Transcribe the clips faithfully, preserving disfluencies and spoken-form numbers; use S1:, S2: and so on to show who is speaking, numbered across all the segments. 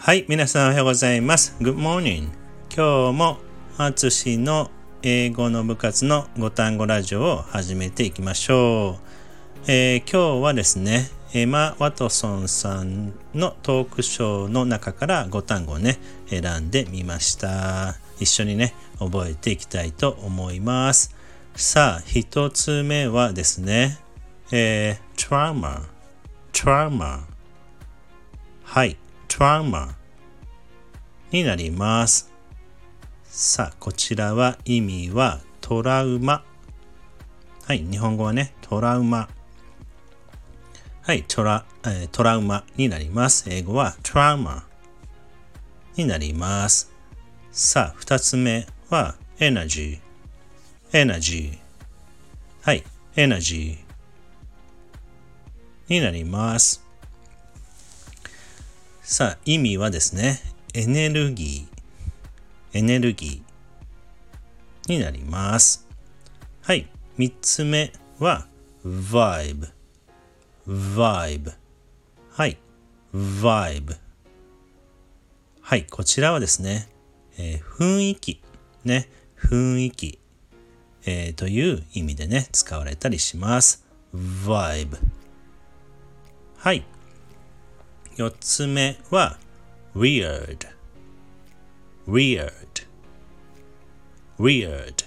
S1: はい、皆さんおはようございます。Good morning。今日もあつしの英語の部活のご単語ラジオを始めていきましょう。えー、今日はですね、エマ・ワトソンさんのトークショーの中からご単語をね、選んでみました。一緒にね、覚えていきたいと思います。さあ、一つ目はですね、えー、trauma、trauma。はい。トラウマになります。さあ、こちらは意味はトラウマ。はい、日本語はね、トラウマ。はい、トラ、えー、トラウマになります。英語はトラウマになります。さあ、二つ目はエナジー。エナジー。はい、エナジーになります。さあ、意味はですね、エネルギー、エネルギーになります。はい、三つ目は vibe、vibe。はい、vibe。はい、こちらはですね、えー、雰囲気、ね、雰囲気、えー、という意味でね、使われたりします。vibe。はい。四つ目は weird weird weird。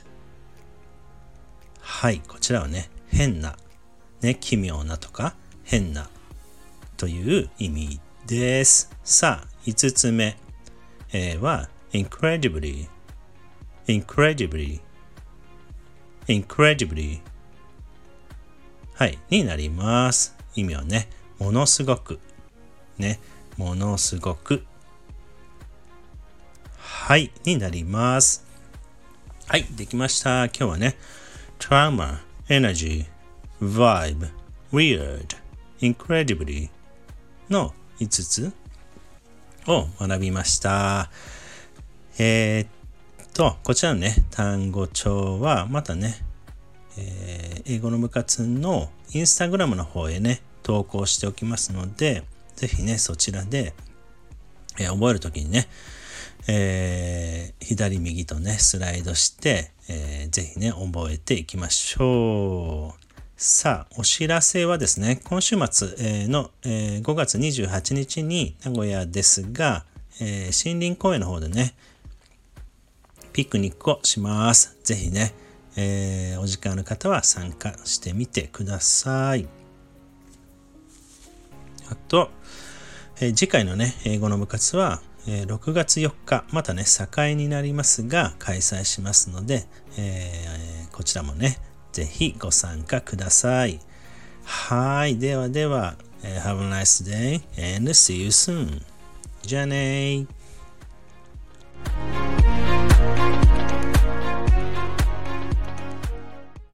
S1: はい、こちらはね、変な、ね、奇妙なとか変なという意味です。さあ、五つ目、えー、は incredibly incredibly incredibly はいになります。意味はね、ものすごくね、ものすごくはいになります。はい、できました。今日はね、trauma、energy、vibe、weird、incredibly のいつつを学びました。えー、っと、こちらのね、単語帳はまたね、えー、英語の部活のインスタグラムの方へね、投稿しておきますので、ぜひね、そちらで、えー、覚えるときにね、えー、左右とね、スライドして、えー、ぜひね、覚えていきましょう。さあ、お知らせはですね、今週末の、えー、ごがつにじゅうはちにちに名古屋ですが、えー、森林公園の方でね、ピクニックをします。ぜひね、えー、お時間ある方は参加してみてください。あと、えー、次回のね、英語の部活は、えー、ろくがつよっか、またね、境になりますが、開催しますので、えー、こちらもね、ぜひご参加ください。はい、ではでは、えー、Have a nice day and see you soon. じゃあねー。